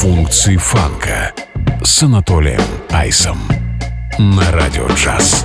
Функции фанка с Анатолием Айсом на Радио Джаз.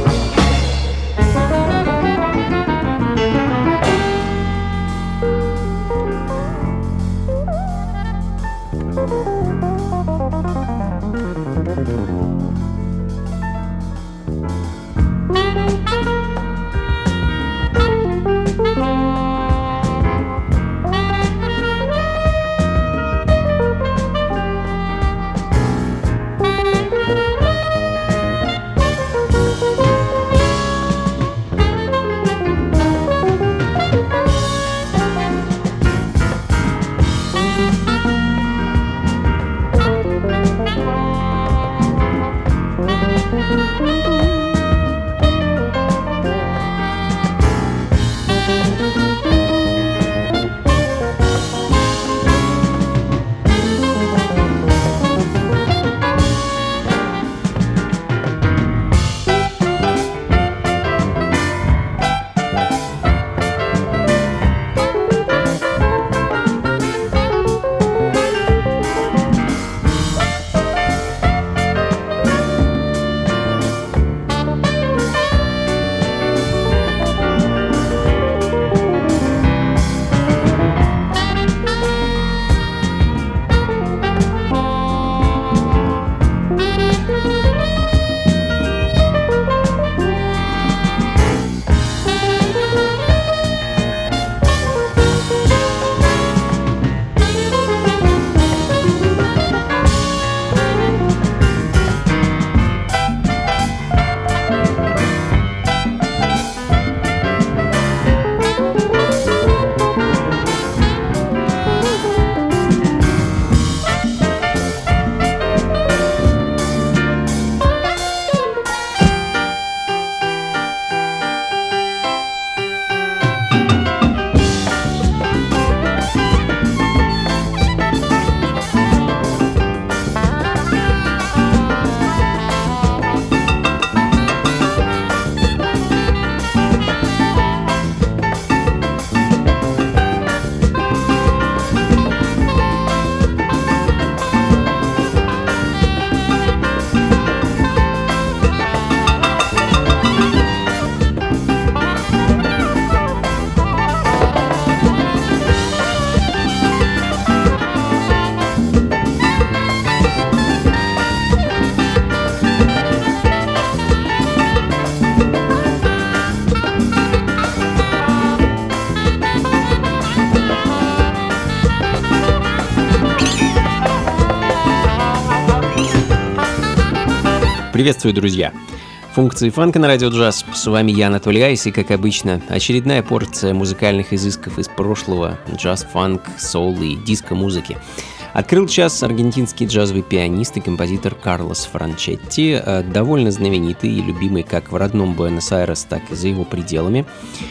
Приветствую, друзья! Функции фанка на Радио Джаз. С вами я, Анатолий Айс, и, как обычно, очередная порция музыкальных изысков из прошлого, джаз, фанк, соул и диско-музыки. Открыл час аргентинский джазовый пианист и композитор Карлос Франчетти, довольно знаменитый и любимый как в родном Буэнос-Айрес, так и за его пределами.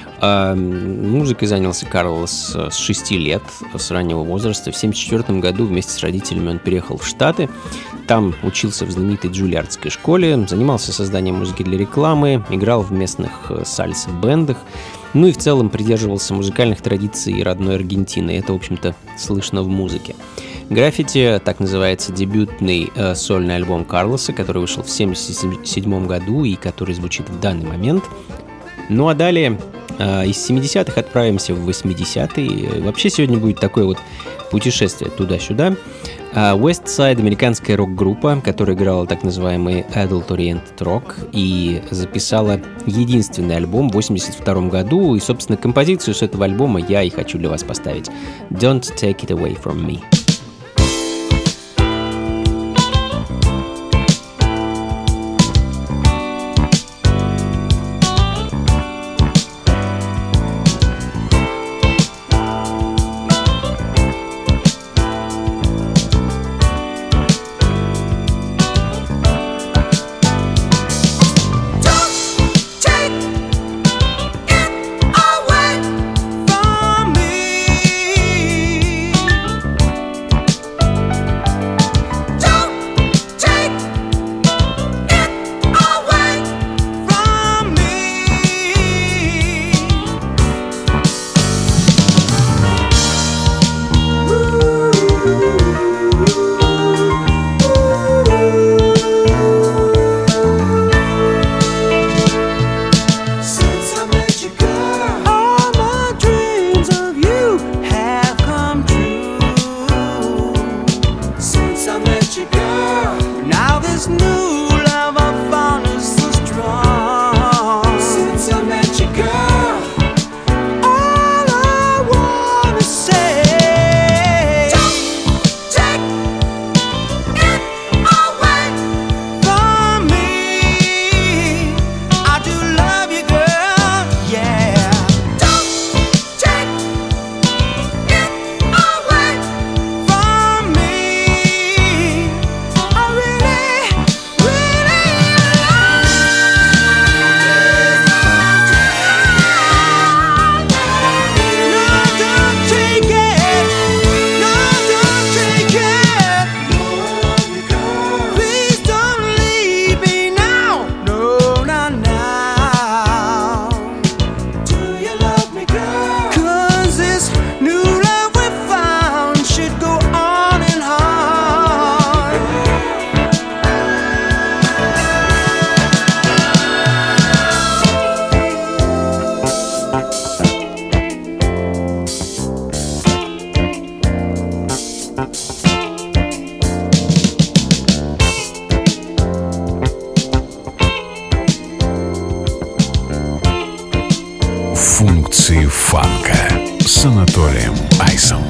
Музыкой занялся Карлос с 6 лет, с раннего возраста. В 1974 году вместе с родителями он переехал в Штаты. Там учился в знаменитой Джульярдской школе, занимался созданием музыки для рекламы, играл в местных сальса-бендах, ну и в целом придерживался музыкальных традиций родной Аргентины. Это, в общем-то, слышно в музыке. «Граффити» — так называется дебютный сольный альбом Карлоса, который вышел в 1977 году и который звучит в данный момент. Ну а далее из 70-х отправимся в 80-е. Вообще сегодня будет такое вот путешествие туда-сюда. West Side — американская рок-группа, которая играла так называемый adult-oriented rock и записала единственный альбом в 1982 году. И, собственно, композицию с этого альбома я и хочу для вас поставить. «Don't Take It Away From Me». фанка с Анатолием Айсом.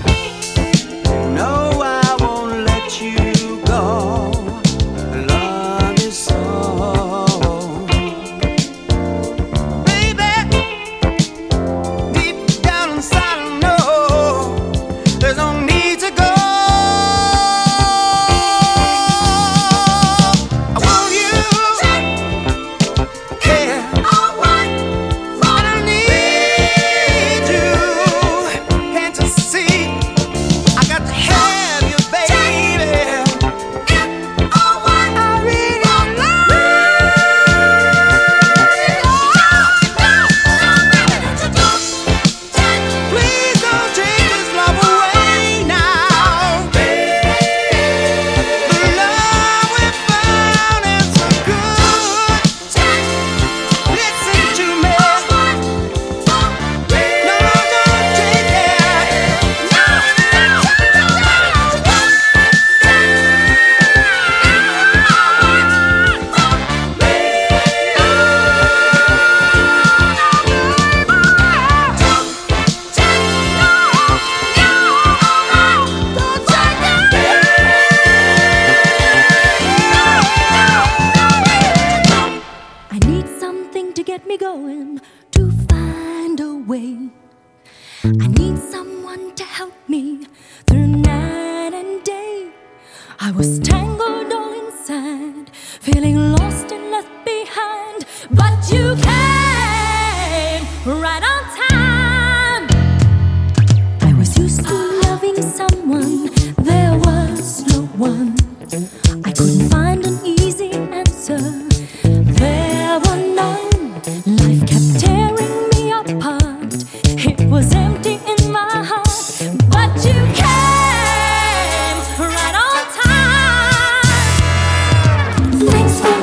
Thanks for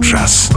джаз.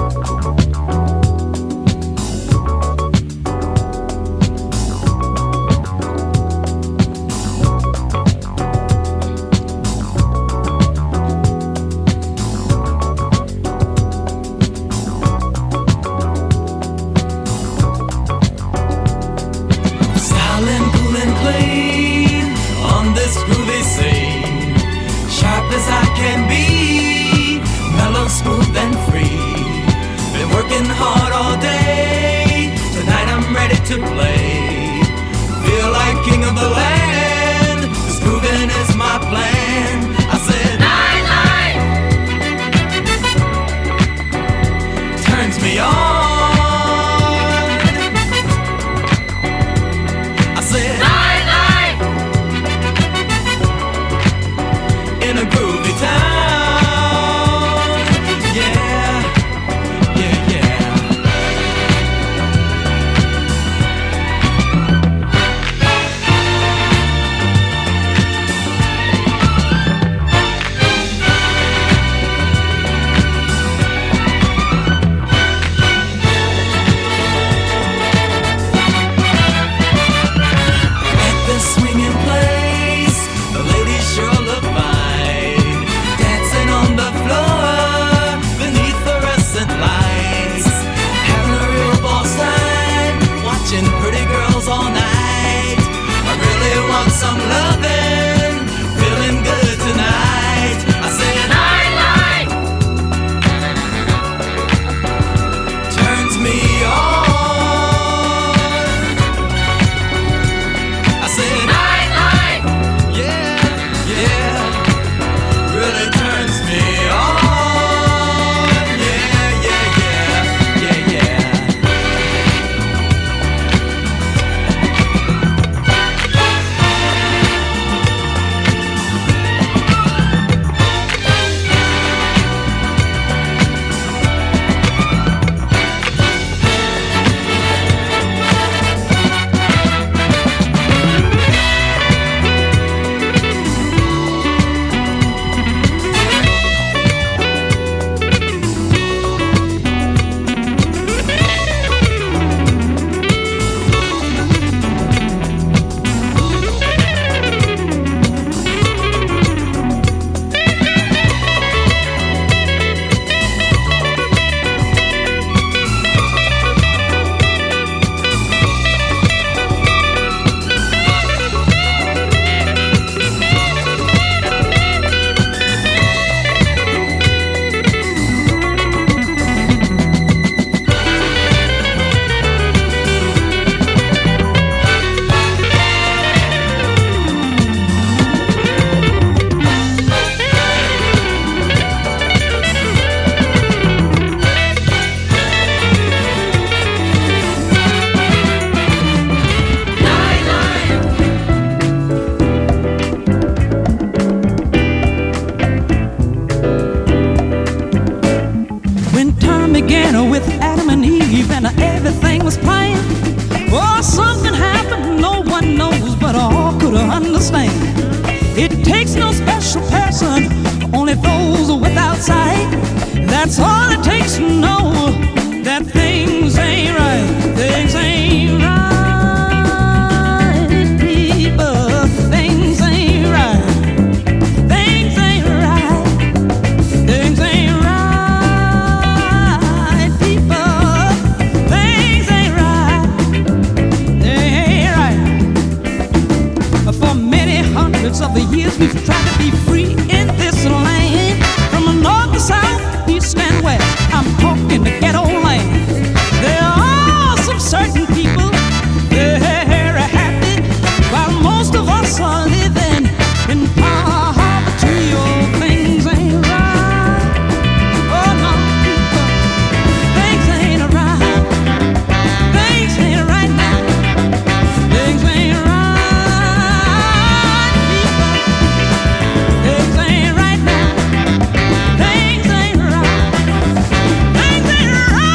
Things ain't right.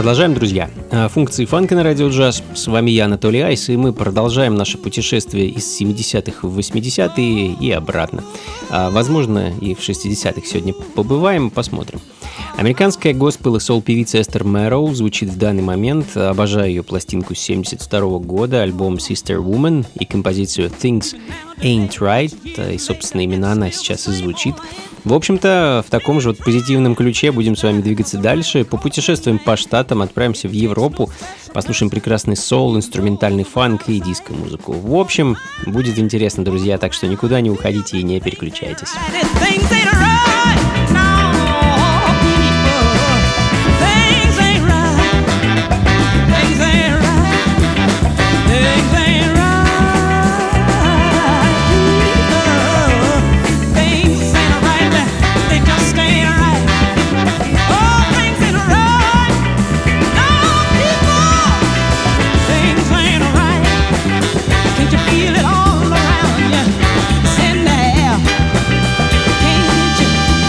Продолжаем, друзья. Функции фанка на радио джаз. С вами я, Анатолий Айс, и мы продолжаем наше путешествие из 70-х в 80-е и обратно. Возможно, и в 60-х сегодня побываем, посмотрим. Американская госпел и сол-певица Эстер Мэроу звучит в данный момент. Обожаю ее пластинку 72 года, альбом Sister Woman и композицию Things Ain't Right, и, собственно, именно она сейчас и звучит. В общем-то, в таком же вот позитивном ключе будем с вами двигаться дальше. Попутешествуем по штатам, отправимся в Европу, послушаем прекрасный соул, инструментальный фанк и диско-музыку. В общем, будет интересно, друзья, так что никуда не уходите и не переключайтесь. Feel it all around you. It's in the air. Can't get you.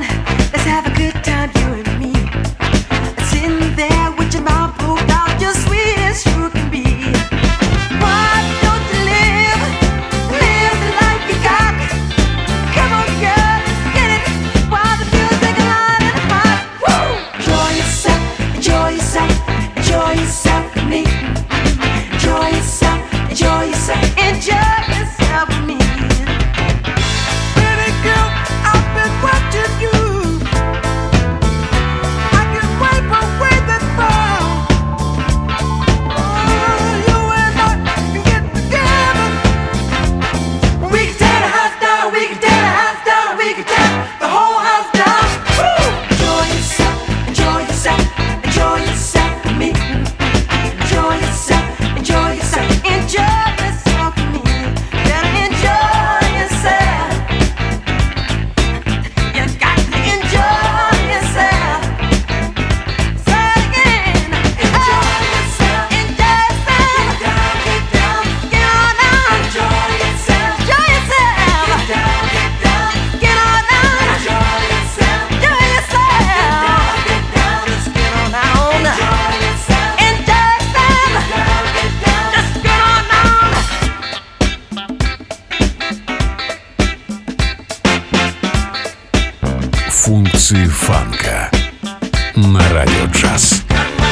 Функции фанка на радио джаз.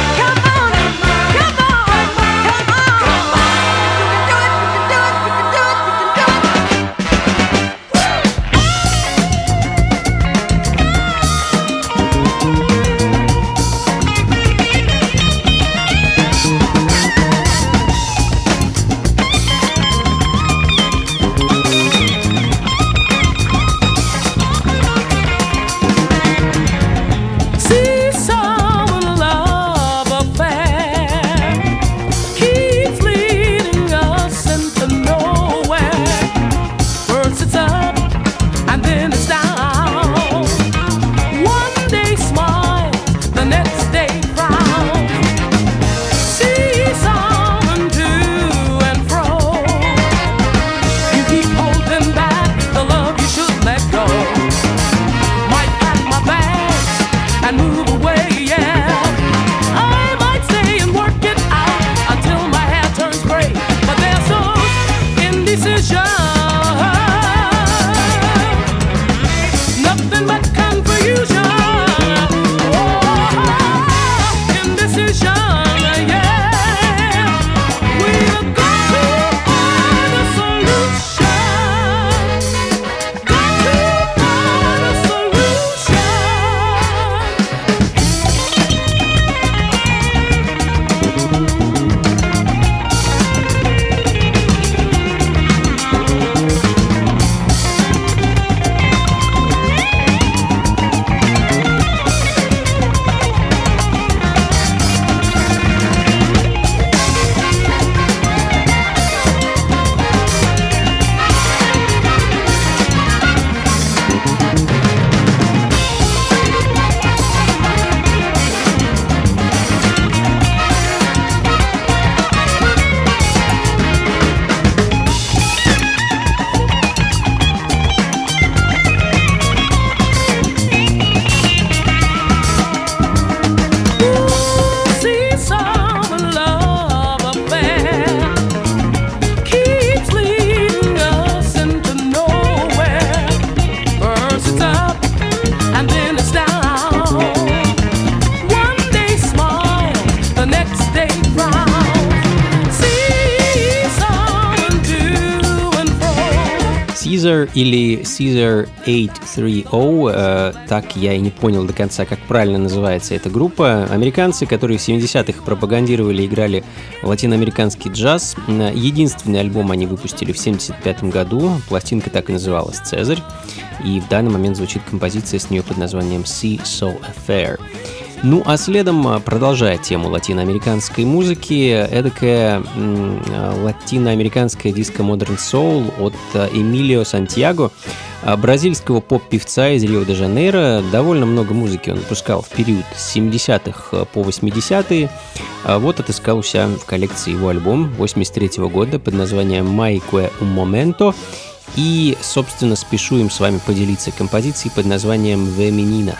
Caesar или Caesar 830, так я и не понял до конца, как правильно называется эта группа. Американцы, которые в 70-х пропагандировали и играли латиноамериканский джаз. Единственный альбом они выпустили в 75 году, пластинка так и называлась «Цезарь», и в данный момент звучит композиция с нее под названием «Sea Soul Affair». Ну, а следом, продолжая тему латиноамериканской музыки, эдакая латиноамериканская диско-модерн-соул от Эмилио Сантьяго, бразильского поп-певца из Рио-де-Жанейро. Довольно много музыки он выпускал в период с 70-х по 80-е. Вот отыскал у себя в коллекции его альбом 83-го года под названием «Mai que un momento». И, собственно, спешу им с вами поделиться композицией под названием «The Menina».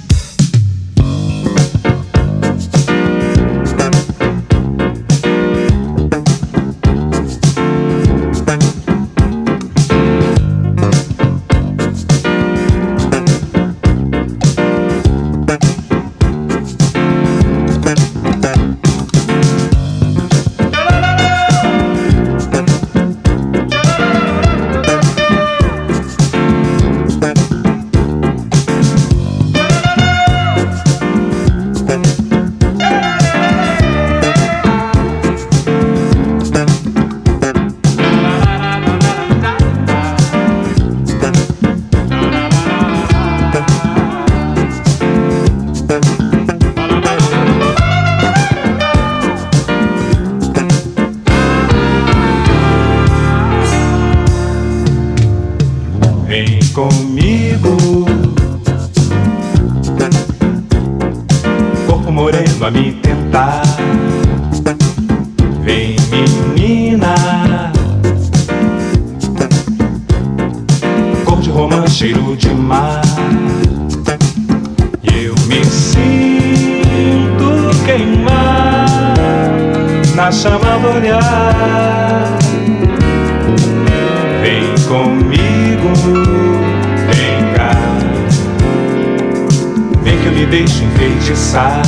Comigo, corpo moreno a me tentar. Vem, menina, cor de romã, cheiro de mar. Eu me sinto queimar na chama do olhar. Vem comigo, vem cá, vem que eu me deixo enfeitiçar.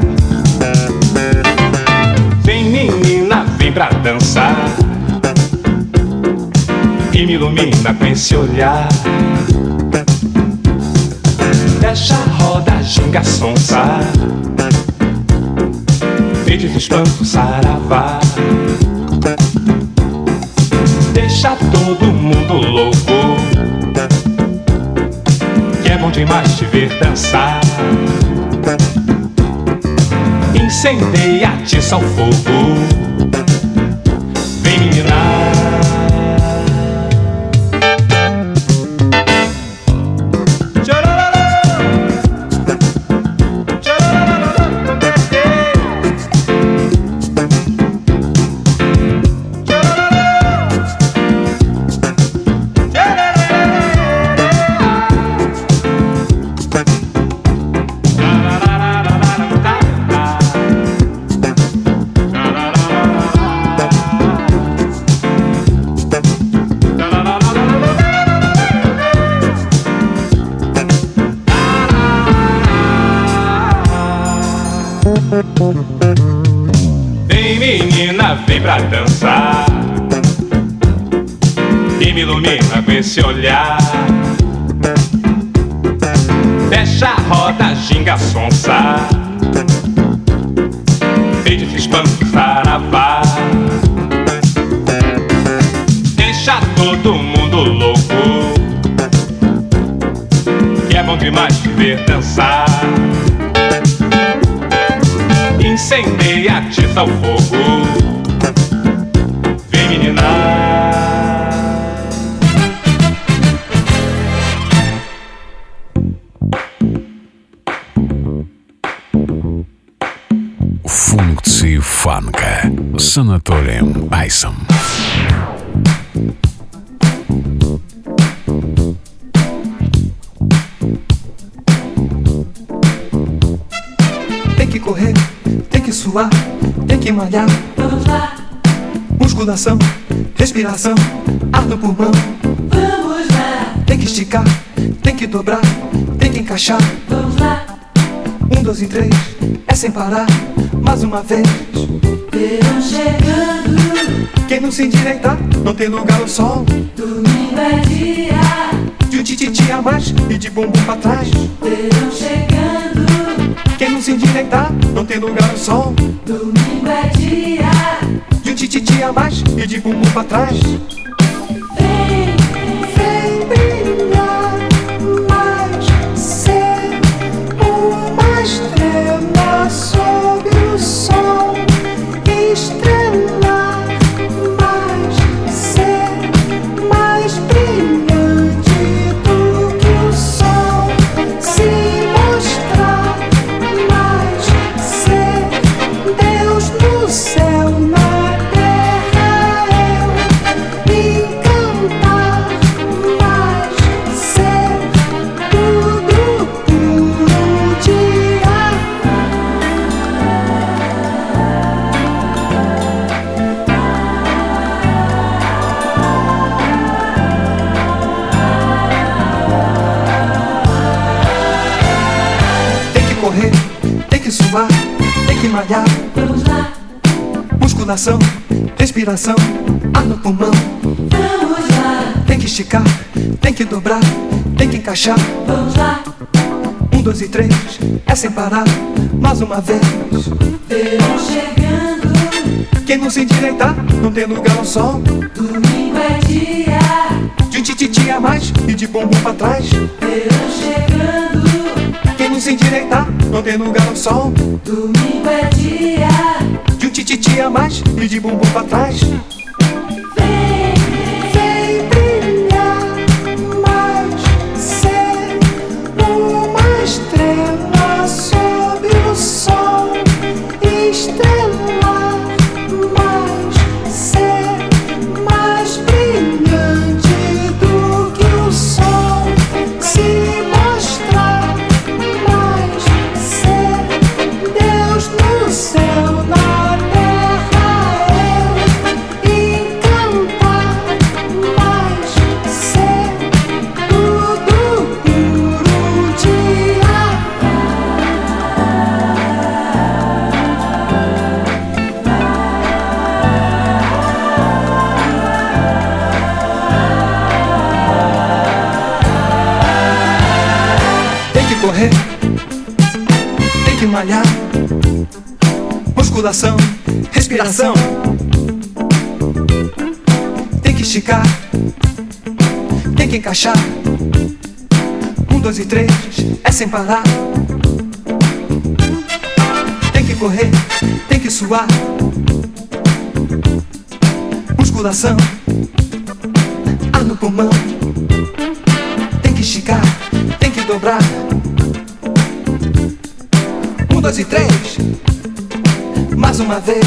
Vem, menina, vem pra dançar e me ilumina com esse olhar. Deixa a roda, ginga, sonsa, feito de espanto, saravá. Deixa todo mundo louco, que é bom demais te ver dançar. Incendeia, atiça o fogo. Vem, menina. Vem, menina, vem pra dançar e me ilumina com esse olhar. Fecha a roda, ginga, sonsa, feito de espanto, saravá. Deixa todo mundo louco, que é bom demais te ver dançar. Incendeia, atiça o fogo. Vem, menina. Функции фанка с Анатолием Айсом. Tem que correr, tem que suar, tem que malhar. Vamos lá, Musculação, respiração, ar no pulmão. vamos lá, Tem que esticar, tem que dobrar, tem que encaixar. vamos lá. 1, 2 e 3, é sem parar, mais uma vez. Verão chegando, Quem não se endireitar, não tem lugar ao sol. domingo é dia. De um tititi a mais e de bumbum pra trás. Verão chegando, Quem não se endireitar, não tem lugar ao sol. domingo é dia. De um tititi a mais e de bumbum pra trás. Vem, Vem brilhar mais, ser uma estrela sob o sol. Estrelar mais, ser mais brilhante do que o sol. Se mostrar mais, ser Deus no céu, na terra eu. correr, tem que suar, tem que malhar. Vamos lá, Musculação, respiração, ar no pulmão. vamos lá, Tem que esticar, tem que dobrar, tem que encaixar. vamos lá. 1, 2 e 3, é sem parar, mais uma vez. Verão chegando, Quem não se endireitar, não tem lugar ao sol. domingo é dia. De um tititi a mais e de bumbum pra trás. Verão chegando, Quem não se endireitar, não tem lugar ao sol. domingo é dia. De um tititi a mais e de bumbum pra trás. Vem, Vem brilhar mais, ser uma estrela sob o sol. Estrelar mais, ser mais brilhante do que o sol. Se mostrar mais, ser Deus no céu, na terra eu. Encantar mais, ser tudo puro dia. Tem que correr, tem que malhar. Musculação, respiração. Tem que esticar, tem que encaixar. 1, 2 e 3, é sem parar. Tem que correr, tem que suar. Musculação, ar no pulmão. Tem que esticar, tem que dobrar. 1, 2 e 3, mais uma vez.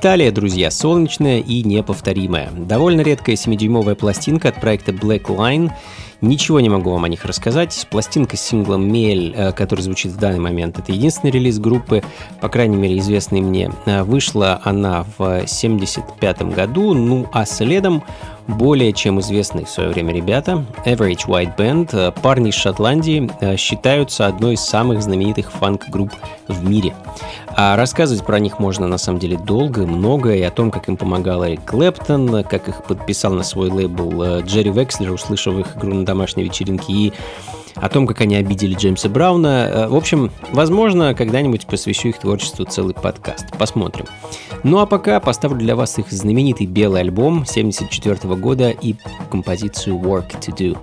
Италия, друзья, солнечная и неповторимая. Довольно редкая 7-дюймовая пластинка от проекта Black Line. Ничего не могу вам о них рассказать. Пластинка с синглом «Мель», который звучит в данный момент, это единственный релиз группы, по крайней мере, известный мне. Вышла она в 1975 году, ну а следом более чем известные в свое время ребята, Average White Band, парни из Шотландии, считаются одной из самых знаменитых фанк-групп в мире. А рассказывать про них можно на самом деле долго, много, и о том, как им помогал Эрик Клэптон, как их подписал на свой лейбл Джерри Векслер, услышав их игру на домашней вечеринке, и о том, как они обидели Джеймса Брауна. В общем, возможно, когда-нибудь посвящу их творчеству целый подкаст. Посмотрим. Ну а пока поставлю для вас их знаменитый белый альбом 1974 года и композицию «Work to Do».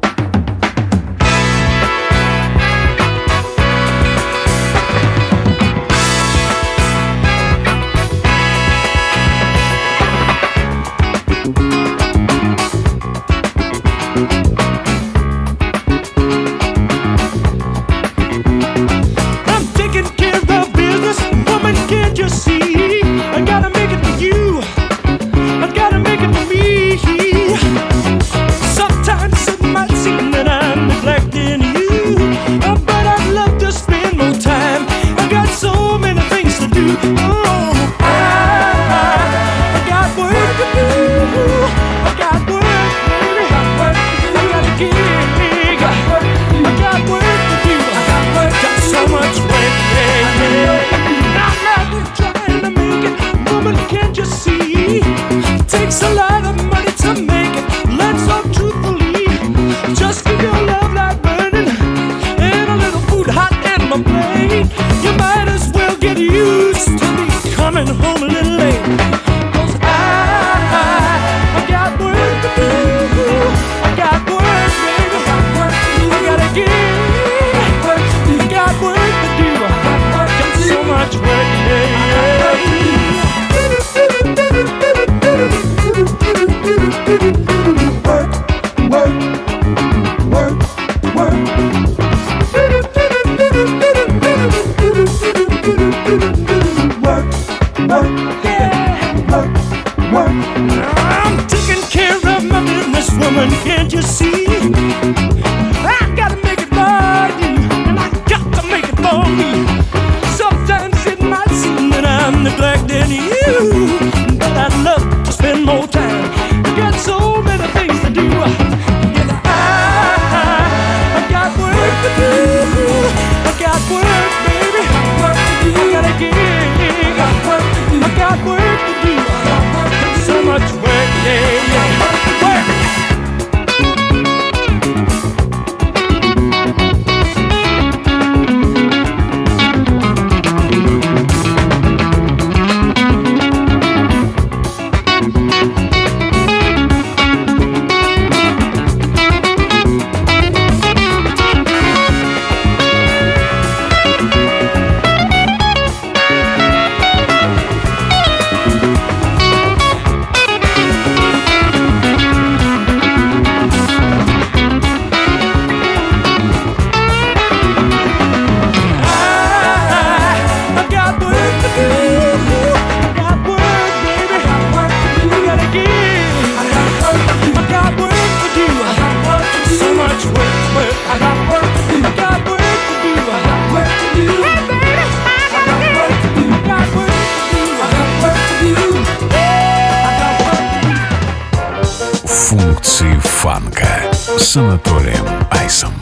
Функции фанка с Анатолием Айсом.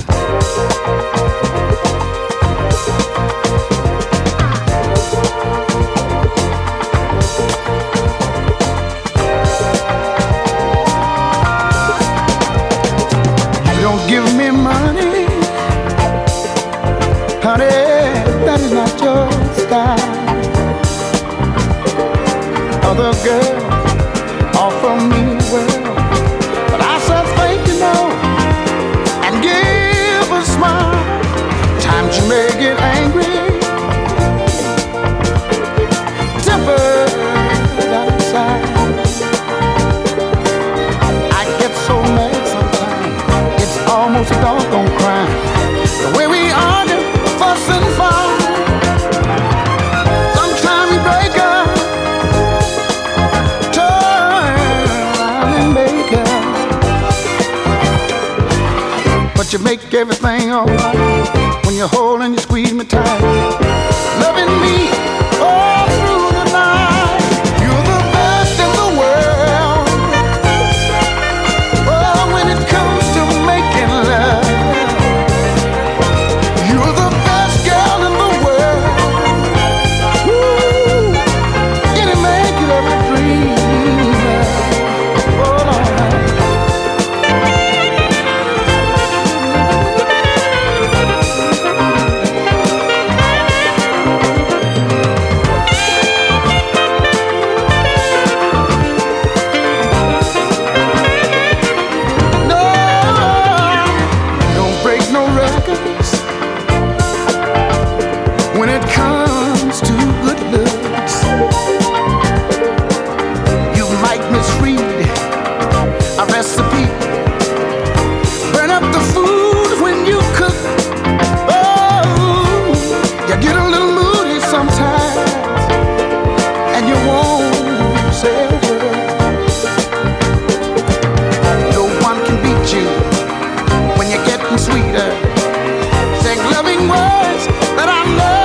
Don't give me money, honey, that is not your style. Other girls offer me well, but I said thank you no, and give a smile. Times you may get angry, temper out inside. I get so mad sometimes, it's almost a doggone crime. The way we argue, fuss and fight. Sometimes we break up, but you make everything alright when you hold and you squeeze me tight, loving me all through the night. You're the best in the world. Oh, when it comes to making love, you're the best girl in the world. Woo. Any man could ever dream of. Oh, Lord. When it comes to good looks, you might misread a recipe, burn up the food when you cook. Oh, you get a little moody sometimes, and you won't say a word. No one can beat you when you're getting sweeter. Saying loving words that I love.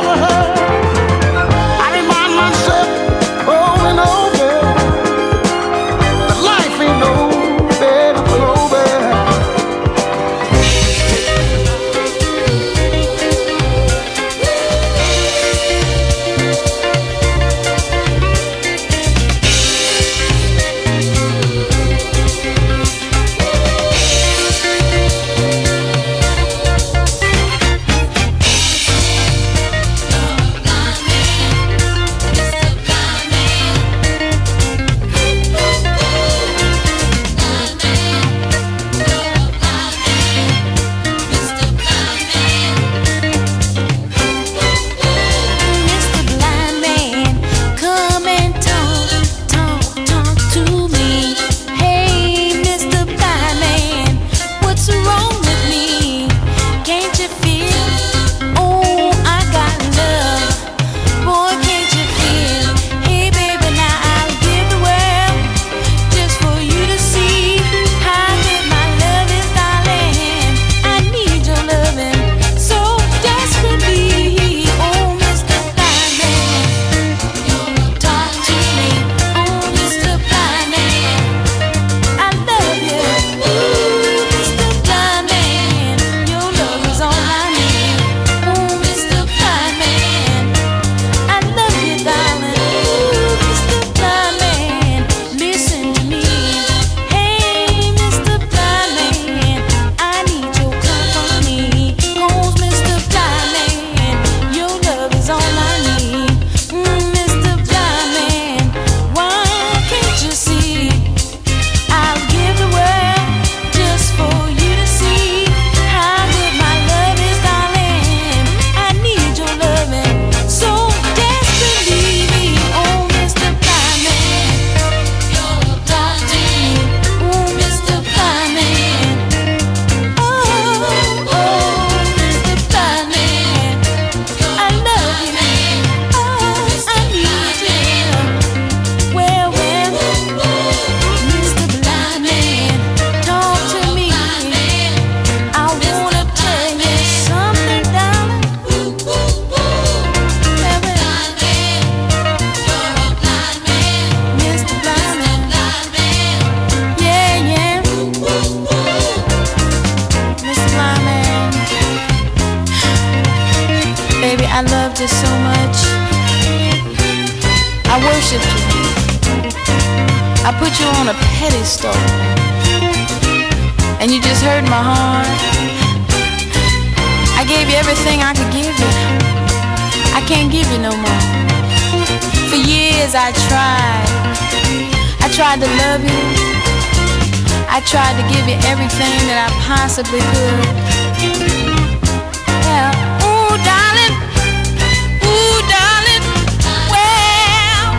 I loved you so much. I worshiped you. I put you on a pedestal, and you just hurt my heart. I gave you everything I could give you. I can't give you no more. For years I tried to love you. I tried to give you everything that I possibly could. Yeah. Ooh, darling. Ooh, darling. Well,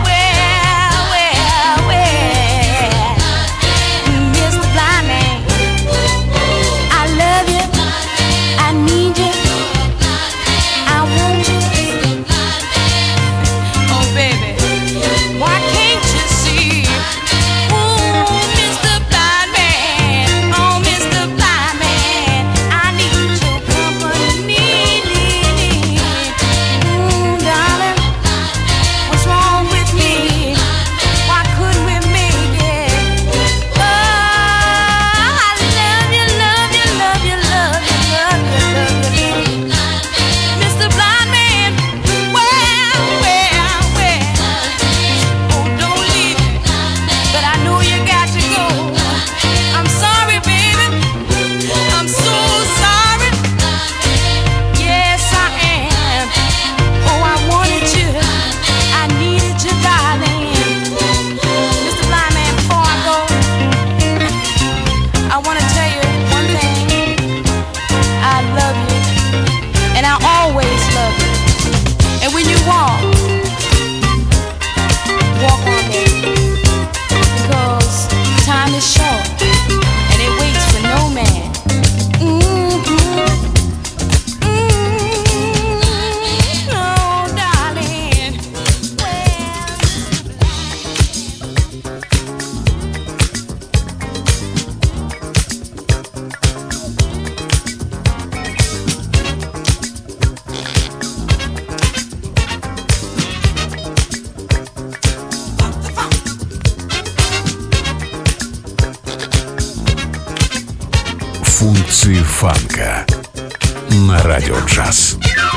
Mr. Blind Man, I love you. I need you. I want you. Oh, baby, why can't you see? Ooh, Mr. Blind Man. Oh, Mr. Blind Man. Функции фанка на радио джаз.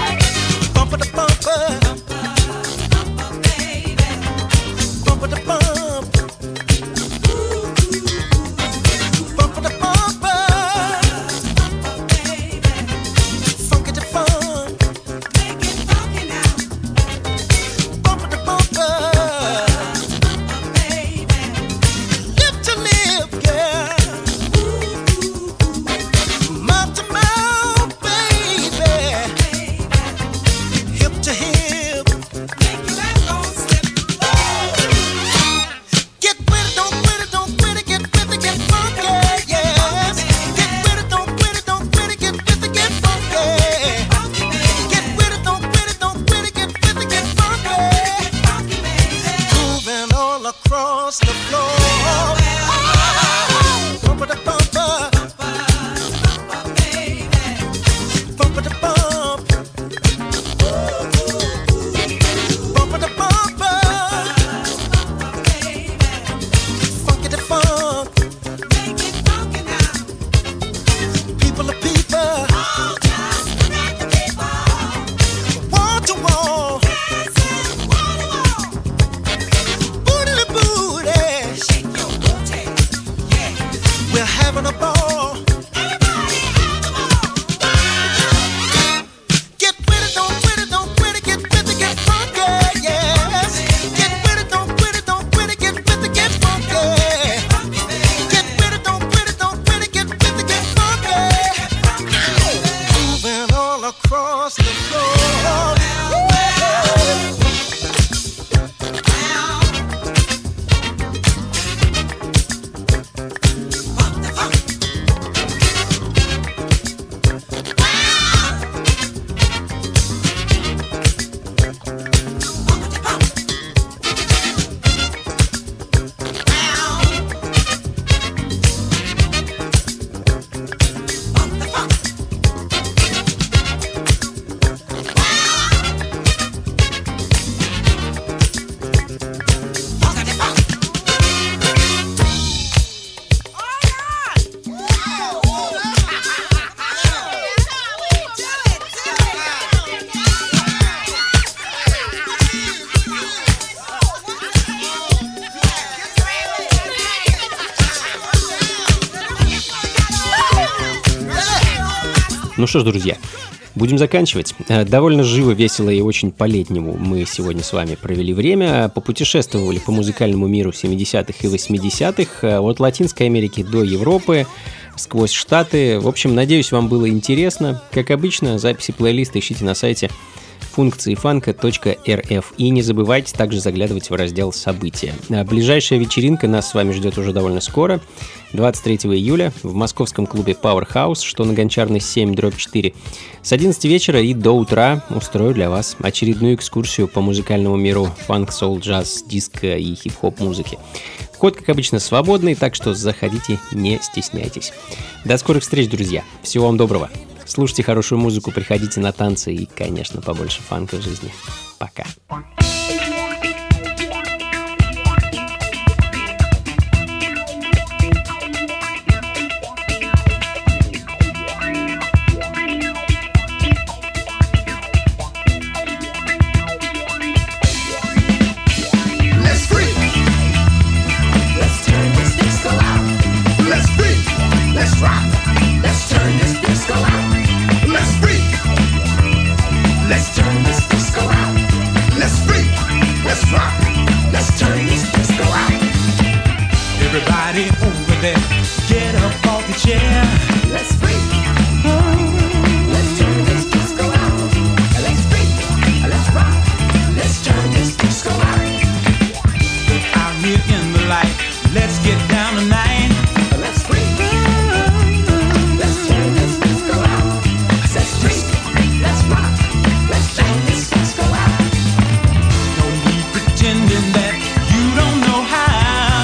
Ну что ж, друзья, будем заканчивать. Довольно живо, весело и очень по-летнему мы сегодня с вами провели время. Попутешествовали по музыкальному миру 70-х и 80-х, от Латинской Америки до Европы, сквозь Штаты. В общем, надеюсь, вам было интересно. Как обычно, записи плейлиста ищите на сайте функциифанка.рф. И не забывайте также заглядывать в раздел «События». Ближайшая вечеринка нас с вами ждет уже довольно скоро, 23 июля, в московском клубе Powerhouse, что на Гончарной 7/4. С 11 вечера и до утра устрою для вас очередную экскурсию по музыкальному миру фанк, соул, джаз, диско и хип-хоп музыки. Вход, как обычно, свободный, так что заходите, не стесняйтесь. До скорых встреч, друзья. Всего вам доброго. Слушайте хорошую музыку, приходите на танцы и, конечно, побольше фанка в жизни. Пока. Everybody over there, get up off the chair. Let's freak. Let's turn this disco out. Let's freak. Let's rock. Let's turn this disco out. Out here in the light, let's get down tonight. Let's freak. Let's turn this disco out. Let's freak. Let's rock. Let's turn this disco out. No need pretending that you don't know how.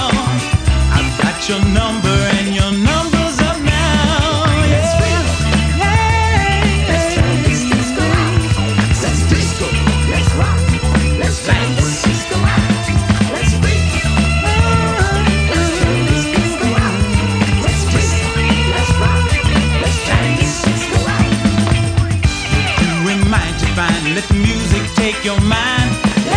Your number and your number's up now. Let's freak. Hey. Let's turn this disco out. Let's disco. Let's rock. Let's turn this disco out. Let's freak. Let's turn this disco make your mind.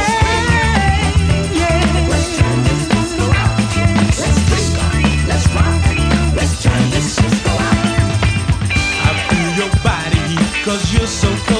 Let's turn this disco out. Let's disco, let's rock. Let's turn this disco out. I feel your body heat 'cause you're so